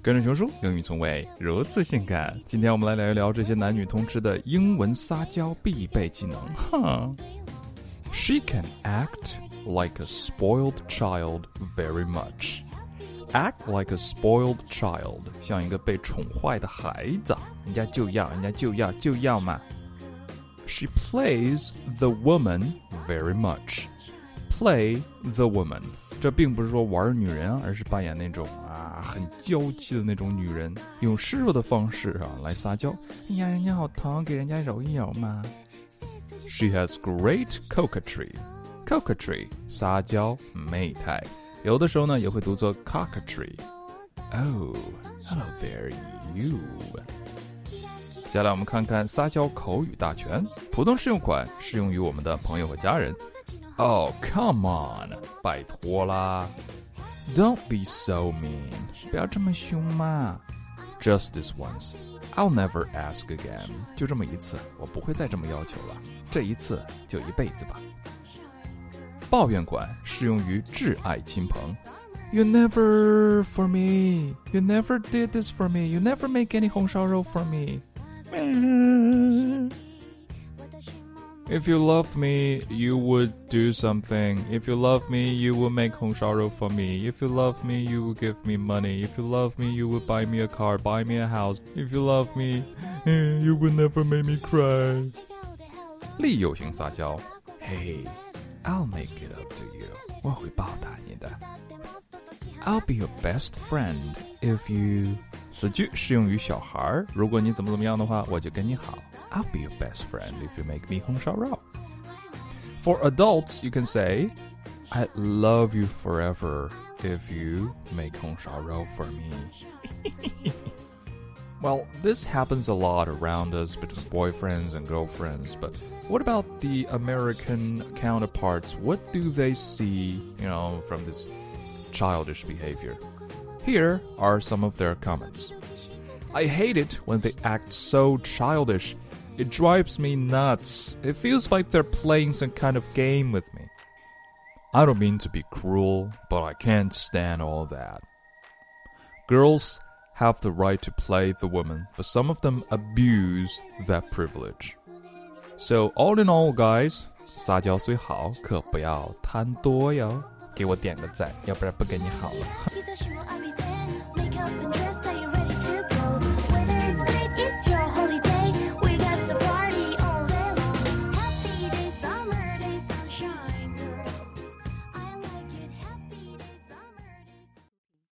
跟着熊叔，英语从未如此性感。今天我们来聊一聊这些男女通吃的英文撒娇必备技能。She can act like a spoiled child very much. Act like a spoiled child， 像一个被宠坏的孩子，人家就要嘛。She plays the woman very much. Play the woman， 这并不是说玩女人啊，而是扮演那种很娇气的那种女人，用示弱的方式来撒娇。哎呀，人家好疼，给人家揉一揉嘛。She has great coquetry， 撒娇媚态，有的时候呢也会读作 coquetry。Oh, hello there, you。接下来我们看看撒娇口语大全，普通适用款适用于我们的朋友和家人。Oh, come on， 拜托啦。Don't be so mean， 不要这么凶嘛。Just this once, I'll never ask again， 就这么一次，我不会再这么要求了，这一次就一辈子吧。抱怨款适用于挚爱亲朋。You never for me, you never did this for me, you never make any 红烧肉 for me. If you loved me, you would do something. If you love me, you would make 红烧肉 for me. If you love me, you would give me money. If you love me, you would buy me a car, buy me a house. If you love me, you would never make me cry. 利诱型撒娇。Hey, I'll make it up to you. 我会报答你的。I'll be your best friend if you... 此句适用于小孩，如果你怎么样的话，我就跟你好。I'll be your best friend if you make me 红烧肉。For adults, you can say, I'd love you forever if you make 红烧肉 for me. Well, this happens a lot around us between boyfriends and girlfriends, but what about the American counterparts? What do they see, from this childish behavior? Here are some of their comments. I hate it when they act so childish. It drives me nuts. It feels like they're playing some kind of game with me. I don't mean to be cruel, but I can't stand all that. Girls have the right to play the woman, but some of them abuse that privilege. So all in all, guys, 撒娇虽好，可不要贪多哟。给我点个赞，要不然不跟你好了。